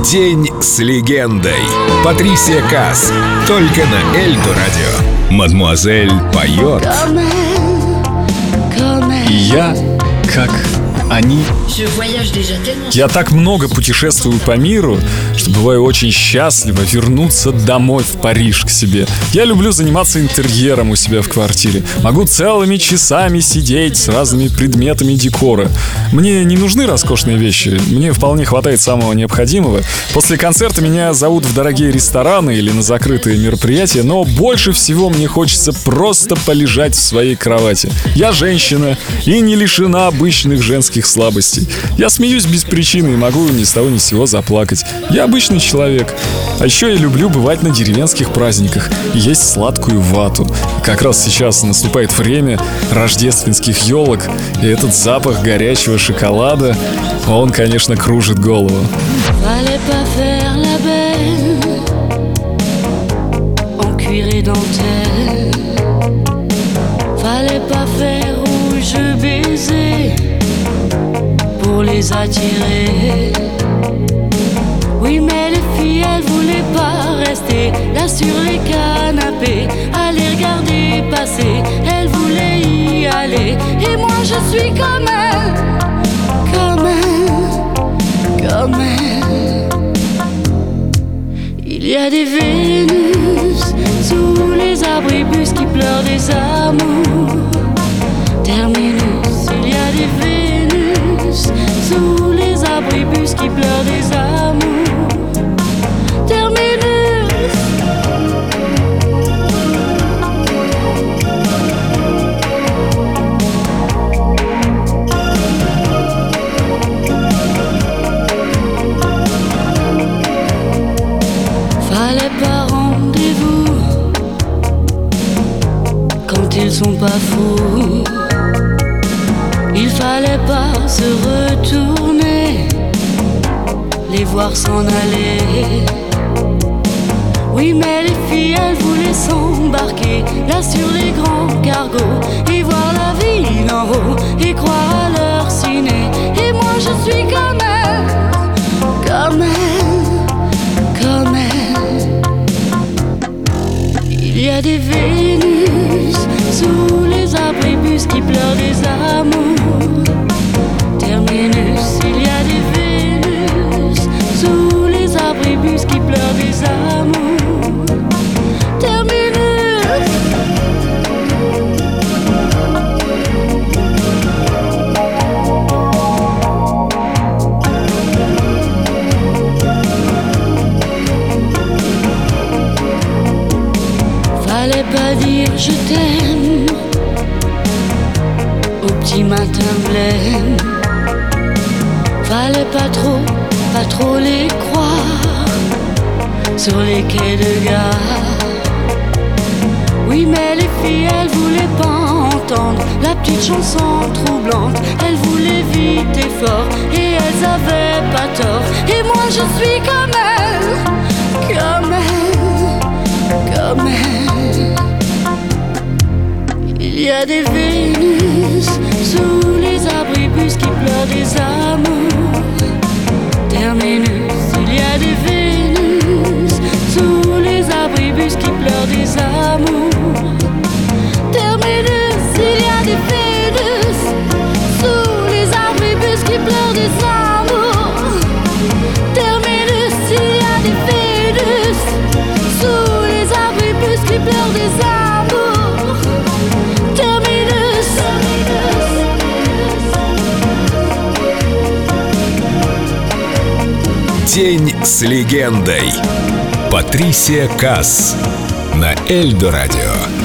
День с легендой. Патрисия Каас. Только на Эльдо радио. Мадмуазель поет. И я, как они. Я так много путешествую по миру, что бываю очень счастлива вернуться домой в Париж к себе. Я люблю заниматься интерьером у себя в квартире. Могу целыми часами сидеть с разными предметами декора. Мне не нужны роскошные вещи, мне вполне хватает самого необходимого. После концерта меня зовут в дорогие рестораны или на закрытые мероприятия, но больше всего мне хочется просто полежать в своей кровати. Я женщина и не лишена обычных женских слабостей. Я смеюсь без причины и могу ни с того ни с сего заплакать. Я обычный человек. А еще я люблю бывать на деревенских праздниках и есть сладкую вату. Как раз сейчас наступает время рождественских елок, и этот запах горячего шоколада, он, конечно, кружит голову. Pour les attirer. Oui, mais les filles, elles voulaient pas rester là sur les canapés, à les regarder passer. Elles voulaient y aller. Et moi, je suis comme elles, comme elles, comme elles. Il y a des Vénus sous les abribus qui pleurent des amours. Terminus, il y a des Vénus sous les abribus qui pleurent des amours. Terminus. Fallait pas rendez-vous quand ils sont pas fous. Il fallait pas se retourner, les voir s'en aller. Oui, mais les filles, elles voulaient s'embarquer là sur les grands cargos et voir la vie d'en haut et croire à leur ciné. Et moi, je suis comme elles, comme elles, comme elles. Il y a des Vénus sous les abribus qui pleurent des amours. Terminus, il y a des Vénus sous les abribus qui pleurent des amours. Terminus. Fallait pas dire je t'aime au petit matin blême. Fallait pas trop les croire sur les quais de gare. Oui, mais les filles, elles voulaient pas entendre la petite chanson troublante. Elles voulaient vite et fort et elles avaient pas tort. Et moi, je suis comme elles, comme elles, comme elles. Il y a des Vénus sous les abribus qui pleurent des amours. Terminus, il y a des Vénus sous les abribus qui pleurent des amours. Terminus, il y a des Vénus sous les abribus qui pleurent des amours. Terminus, il y a des Vénus sous les abribus qui pleurent des amours. День с легендой. Патрисия Каас на Эльдо радио.